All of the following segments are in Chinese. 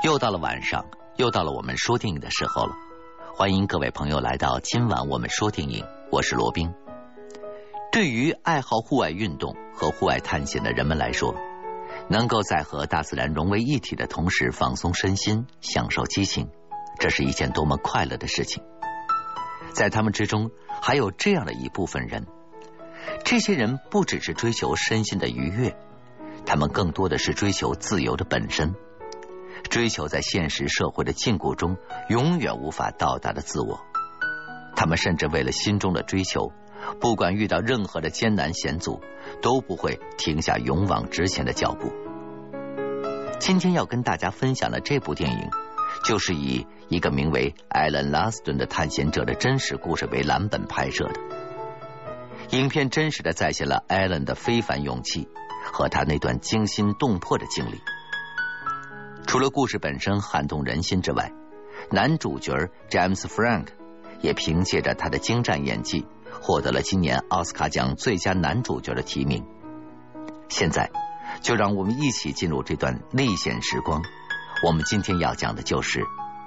又到了晚上，又到了我们说电影的时候了。欢迎各位朋友来到今晚我们说电影，我是罗宾。对于爱好户外运动和户外探险的人们来说，能够在和大自然融为一体的同时放松身心，享受激情，这是一件多么快乐的事情。在他们之中还有这样的一部分人，这些人不只是追求身心的愉悦，他们更多的是追求自由的本身，追求在现实社会的禁锢中永远无法到达的自我。他们甚至为了心中的追求，不管遇到任何的艰难险阻，都不会停下勇往直前的脚步。今天要跟大家分享的这部电影，就是以一个名为艾伦·拉斯顿的探险者的真实故事为蓝本拍摄的。影片真实的再现了艾伦的非凡勇气和他那段惊心动魄的经历。除了故事本身撼动人心之外，男主角 James Frank 也凭借着他的精湛演技获得了今年奥斯卡奖最佳男主角的提名。现在就让我们一起进入这段历险时光，我们今天要讲的就是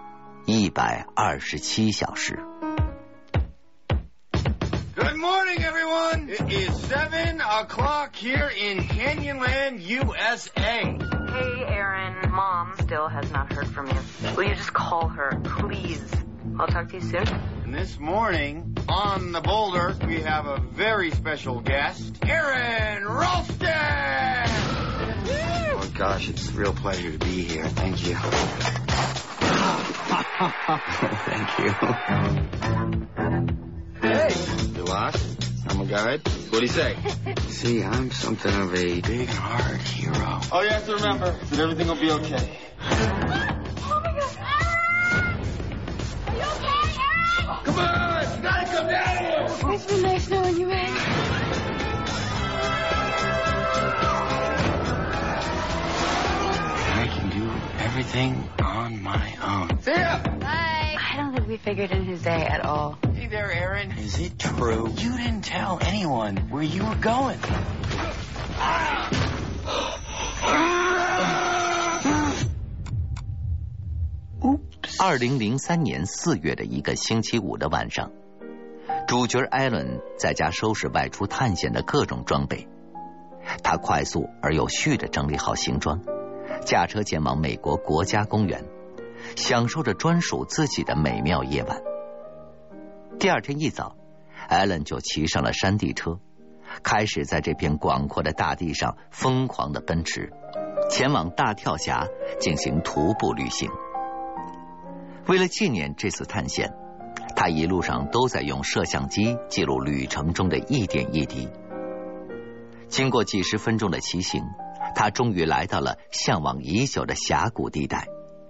127小时。 Good morning, everyone. It is 7 o'clock here in Canyonland, USA. Hey, Aaron. Mom still has not heard from you. Will you just call her, please? I'll talk to you soon. And this morning, on the boulder, we have a very special guest, Aaron Ralston! Oh, gosh, it's a real pleasure to be here. Thank you. Thank you. Hey! You lost? I'm a guide. What do you say? See, I'm something of a big heart hero. All you have to remember is that everything will be okay. Oh my God! Aaron! Are you okay, Aaron? Come on! You gotta come down here! It's been nice knowing you, man. I can do everything on my own. See ya! Bye. I don't think we figured in his day at all. Hey there, Aaron. Is it true? You didn't tell anyone where you were going. 2003年4月的一个星期五的晚上，主角艾伦在家收拾外出探险的各种装备。他快速而有序地整理好行装，驾车前往美国国家公园，享受着专属自己的美妙夜晚。第二天一早，艾伦就骑上了山地车，开始在这片广阔的大地上疯狂地奔驰，前往大跳峡进行徒步旅行。为了纪念这次探险，他一路上都在用摄像机记录旅程中的一点一滴。经过几十分钟的骑行，他终于来到了向往已久的峡谷地带。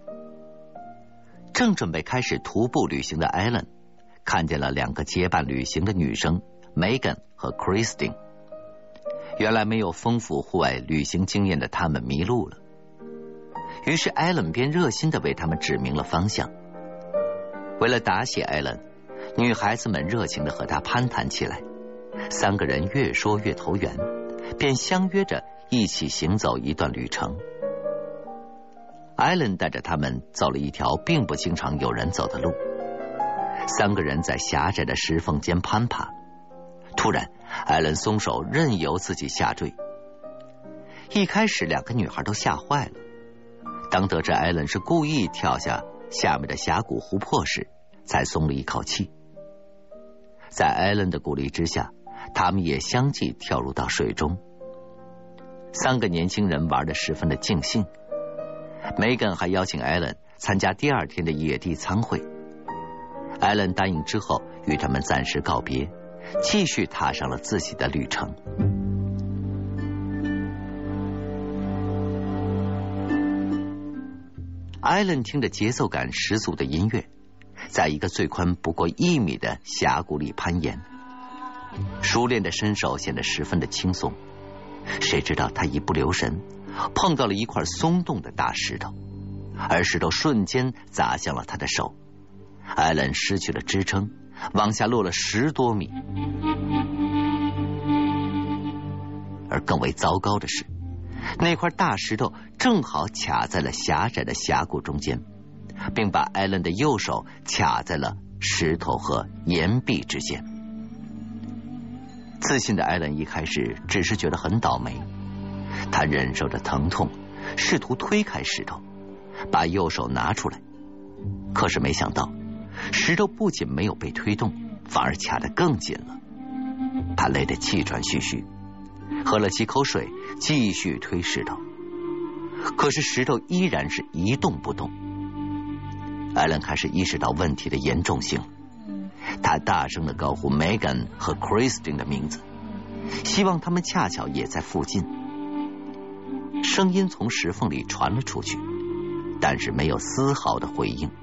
正准备开始徒步旅行的艾伦，看见了两个结伴旅行的女生 Megan 和 Christine。 原来没有丰富户外旅行经验的他们迷路了，于是艾伦便热心地为他们指明了方向。为了答谢艾伦，女孩子们热情地和他攀谈起来，三个人越说越投缘，便相约着一起行走一段旅程。艾伦带着他们走了一条并不经常有人走的路，三个人在狭窄的石缝间攀爬。突然，艾伦松手，任由自己下坠。一开始，两个女孩都吓坏了。当得知艾伦是故意跳下下面的峡谷湖泊时，才松了一口气。在艾伦的鼓励之下，他们也相继跳入到水中。三个年轻人玩得十分的尽兴。梅根还邀请艾伦参加第二天的野地餐会。艾伦答应之后，与他们暂时告别，继续踏上了自己的旅程。艾伦听着节奏感十足的音乐，在一个最宽不过1米的峡谷里攀岩。熟练的身手显得十分的轻松，谁知道他一不留神碰到了一块松动的大石头，而石头瞬间砸向了他的手。艾伦失去了支撑，往下落了10多米。而更为糟糕的是， 那块大石头正好卡在了狭窄的峡谷中间，并把艾伦的右手卡在了石头和岩壁之间。自信的艾伦一开始只是觉得很倒霉，他忍受着疼痛，试图推开石头，把右手拿出来。可是没想到，石头不仅没有被推动，反而卡得更紧了。他累得气喘吁吁，喝了几口水，继续推石头。可是石头依然是一动不动。艾伦开始意识到问题的严重性，他大声地高呼 Megan 和 Christine 的名字，希望他们恰巧也在附近。声音从石缝里传了出去，但是没有丝毫的回应。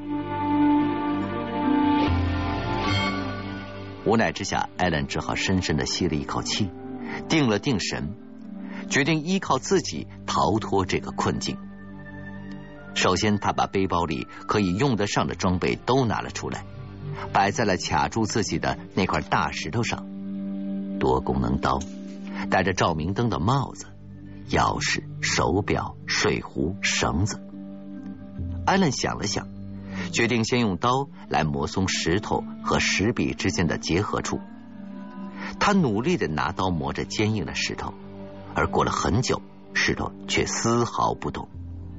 无奈之下，艾伦只好深深地吸了一口气，定了定神，决定依靠自己逃脱这个困境。首先，他把背包里可以用得上的装备都拿了出来，摆在了卡住自己的那块大石头上。多功能刀，戴着照明灯的帽子，钥匙、手表、水壶、绳子。艾伦想了想，决定先用刀来磨松石头和石壁之间的结合处。他努力地拿刀磨着坚硬的石头，而过了很久，石头却丝毫不动。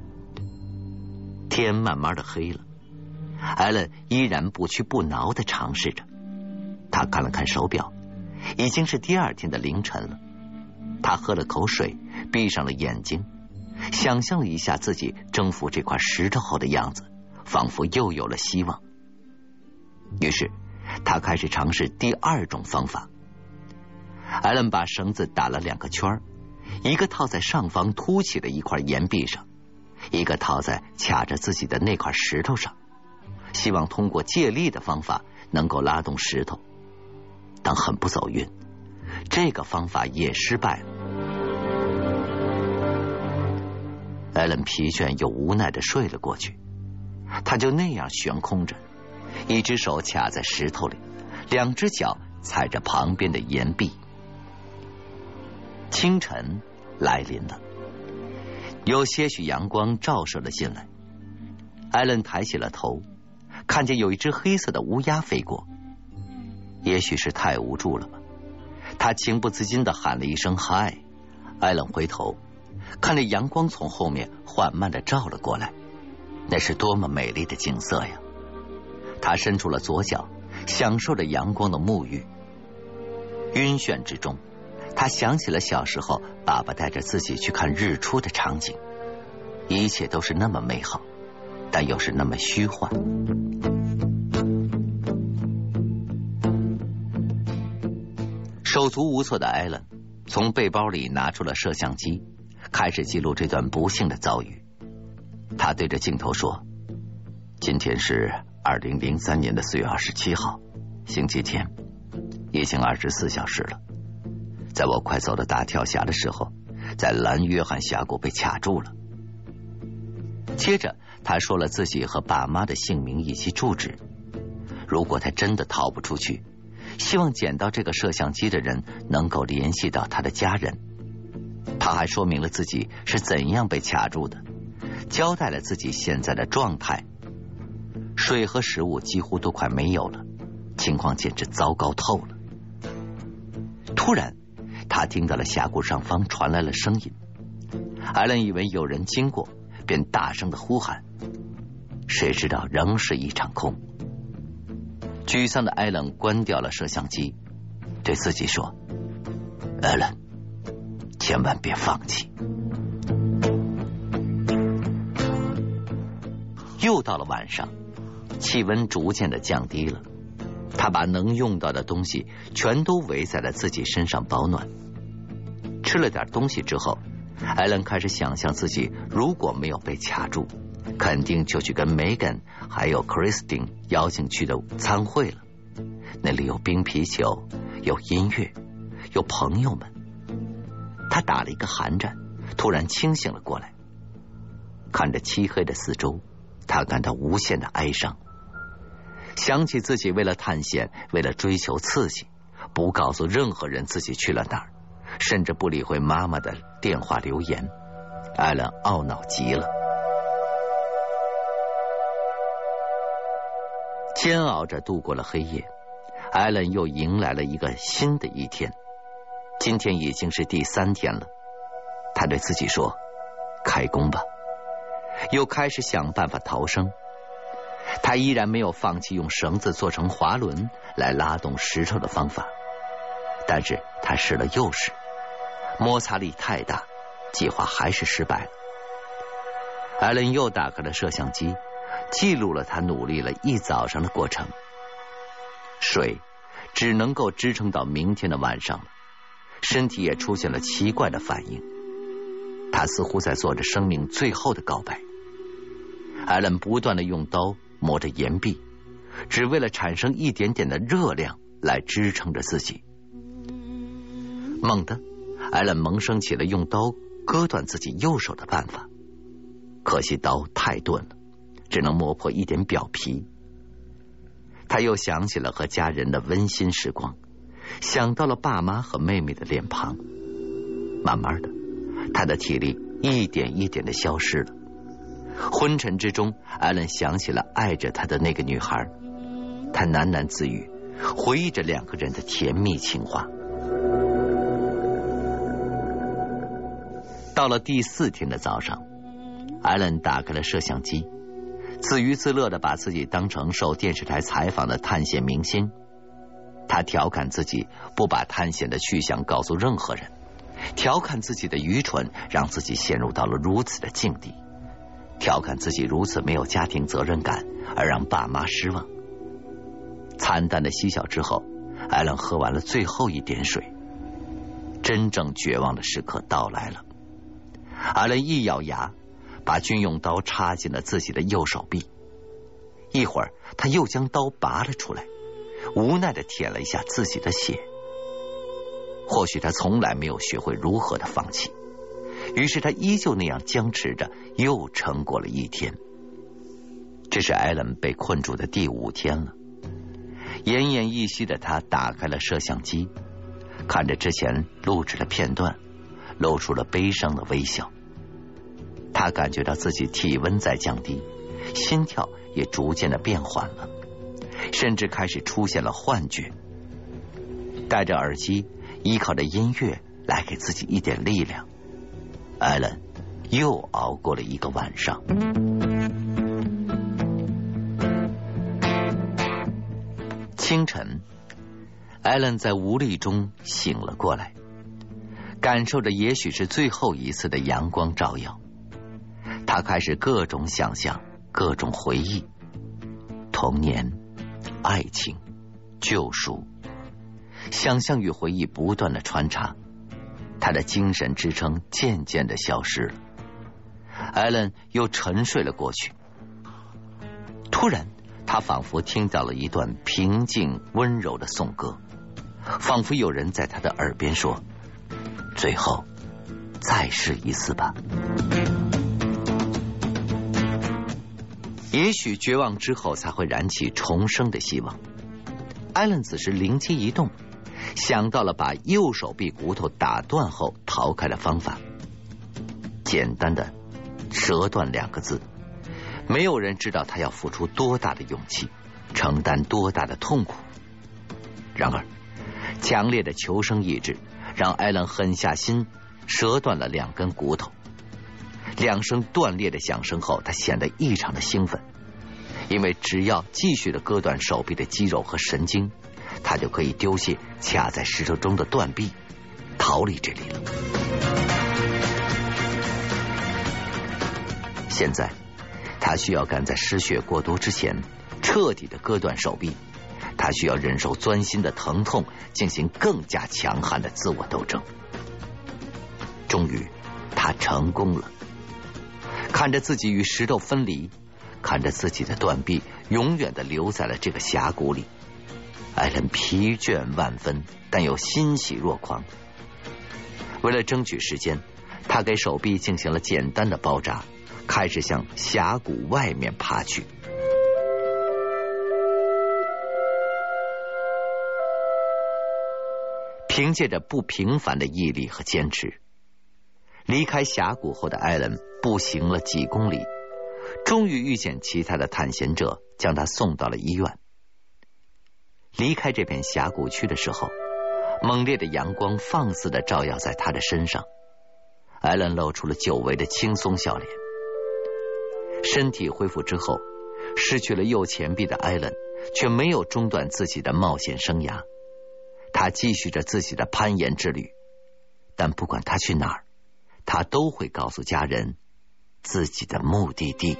天慢慢的黑了，艾伦依然不屈不挠地尝试着。他看了看手表，已经是第二天的凌晨了。他喝了口水，闭上了眼睛，想象了一下自己征服这块石头后的样子，仿佛又有了希望。于是他开始尝试第二种方法。艾伦把绳子打了2个圈，一个套在上方凸起的一块岩壁上，一个套在卡着自己的那块石头上，希望通过借力的方法能够拉动石头。但很不走运，这个方法也失败了。艾伦疲倦又无奈地睡了过去，他就那样悬空着，一只手卡在石头里，2只脚踩着旁边的岩壁。清晨来临了，有些许阳光照射了进来。艾伦抬起了头，看见有一只黑色的乌鸦飞过。也许是太无助了吧，他情不自禁地喊了一声嗨。艾伦回头，看着阳光从后面缓慢地照了过来，那是多么美丽的景色呀！他伸出了左脚，享受着阳光的沐浴。晕眩之中，他想起了小时候爸爸带着自己去看日出的场景，一切都是那么美好，但又是那么虚幻。手足无措的艾伦从背包里拿出了摄像机，开始记录这段不幸的遭遇。他对着镜头说：今天是2003年的4月27号，星期天，已经24小时了。在我快走到大跳峡的时候，在蓝约翰峡谷被卡住了。接着他说了自己和爸妈的姓名以及住址。如果他真的逃不出去，希望捡到这个摄像机的人能够联系到他的家人。他还说明了自己是怎样被卡住的，交代了自己现在的状态。水和食物几乎都快没有了，情况简直糟糕透了。突然他听到了峡谷上方传来了声音，艾伦以为有人经过，便大声的呼喊，谁知道仍是一场空。沮丧的艾伦关掉了摄像机，对自己说：艾伦，千万别放弃。又到了晚上，气温逐渐的降低了，他把能用到的东西全都围在了自己身上保暖。吃了点东西之后，艾伦开始想象自己如果没有被卡住，肯定就去跟 Megan 还有 Christine 邀请去的餐会了。那里有冰啤酒，有音乐，有朋友们。他打了一个寒战，突然清醒了过来。看着漆黑的四周，他感到无限的哀伤，想起自己为了探险，为了追求刺激，不告诉任何人自己去了哪儿，甚至不理会妈妈的电话留言， 艾伦懊恼极了。煎熬着度过了黑夜，艾伦又迎来了一个新的一天。今天已经是第3天了，他对自己说：开工吧。又开始想办法逃生。他依然没有放弃用绳子做成滑轮来拉动石头的方法，但是他试了又试，摩擦力太大，计划还是失败了。艾伦又打开了摄像机，记录了他努力了一早上的过程。水只能够支撑到明天的晚上了，身体也出现了奇怪的反应，他似乎在做着生命最后的告白。艾伦不断地用刀磨着岩壁，只为了产生一点点的热量来支撑着自己。猛地，艾伦萌生起了用刀割断自己右手的办法，可惜刀太钝了，只能磨破一点表皮。他又想起了和家人的温馨时光，想到了爸妈和妹妹的脸庞。慢慢的，他的体力一点一点的消失了。昏沉之中，艾伦想起了爱着他的那个女孩，他喃喃自语，回忆着2个人的甜蜜情话。到了第4天的早上，艾伦打开了摄像机，自娱自乐地把自己当成受电视台采访的探险明星。他调侃自己不把探险的去向告诉任何人，调侃自己的愚蠢让自己陷入到了如此的境地，调侃自己如此没有家庭责任感而让爸妈失望。惨淡的嬉笑之后，艾伦喝完了最后一点水。真正绝望的时刻到来了。艾伦一咬牙，把军用刀插进了自己的右手臂。一会儿他又将刀拔了出来，无奈地舔了一下自己的血。或许他从来没有学会如何的放弃，于是他依旧那样僵持着，又撑过了一天。这是艾伦被困住的第5天了。奄奄一息的他打开了摄像机，看着之前录制的片段，露出了悲伤的微笑。他感觉到自己体温在降低，心跳也逐渐的变缓了，甚至开始出现了幻觉。戴着耳机，依靠着音乐来给自己一点力量，艾伦又熬过了一个晚上。清晨，艾伦在无力中醒了过来，感受着也许是最后一次的阳光照耀。他开始各种想象，各种回忆，童年、爱情、救赎，想象与回忆不断的穿插，他的精神支撑渐渐的消失了。艾伦又沉睡了过去。突然，他仿佛听到了一段平静温柔的颂歌，仿佛有人在他的耳边说：最后再试一次吧。也许绝望之后才会燃起重生的希望。艾伦此时灵机一动，想到了把右手臂骨头打断后逃开的方法。简单的折断2个字，没有人知道他要付出多大的勇气，承担多大的痛苦。然而强烈的求生意志让艾伦狠下心折断了2根骨头。2声断裂的响声后，他显得异常的兴奋，因为只要继续的割断手臂的肌肉和神经，他就可以丢卸卡在石头中的断臂，逃离这里了。现在他需要赶在失血过多之前彻底的割断手臂，他需要忍受钻心的疼痛，进行更加强悍的自我斗争。终于他成功了。看着自己与石头分离，看着自己的断臂永远的留在了这个峡谷里，艾伦疲倦万分，但又欣喜若狂。为了争取时间，他给手臂进行了简单的包扎，开始向峡谷外面爬去。凭借着不平凡的毅力和坚持， 离开峡谷后的艾伦步行了几公里，终于遇见其他的探险者，将他送到了医院。离开这片峡谷区的时候，猛烈的阳光放肆地照耀在他的身上，艾伦露出了久违的轻松笑脸。身体恢复之后，失去了右前臂的艾伦却没有中断自己的冒险生涯，他继续着自己的攀岩之旅，但不管他去哪儿，他都会告诉家人自己的目的地。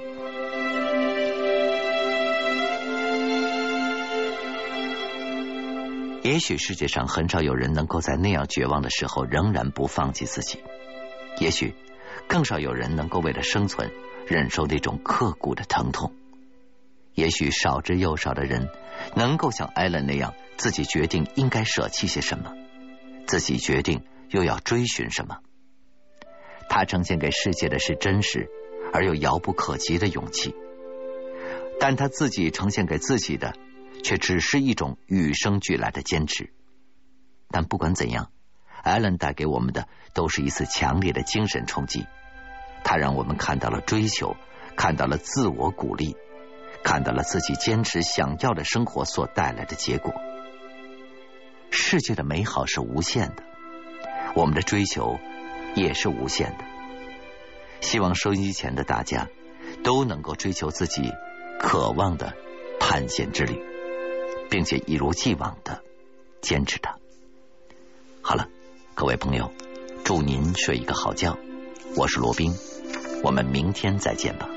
也许世界上很少有人能够在那样绝望的时候仍然不放弃自己，也许更少有人能够为了生存忍受那种刻骨的疼痛，也许少之又少的人能够像艾伦那样，自己决定应该舍弃些什么，自己决定又要追寻什么。他呈现给世界的是真实而又遥不可及的勇气，但他自己呈现给自己的却只是一种与生俱来的坚持。但不管怎样，艾伦带给我们的都是一次强烈的精神冲击，他让我们看到了追求，看到了自我鼓励，看到了自己坚持想要的生活所带来的结果。世界的美好是无限的，我们的追求也是无限的。希望收音机前的大家都能够追求自己渴望的探险之旅，并且一如既往的坚持它。好了，各位朋友，祝您睡一个好觉。我是罗宾，我们明天再见吧。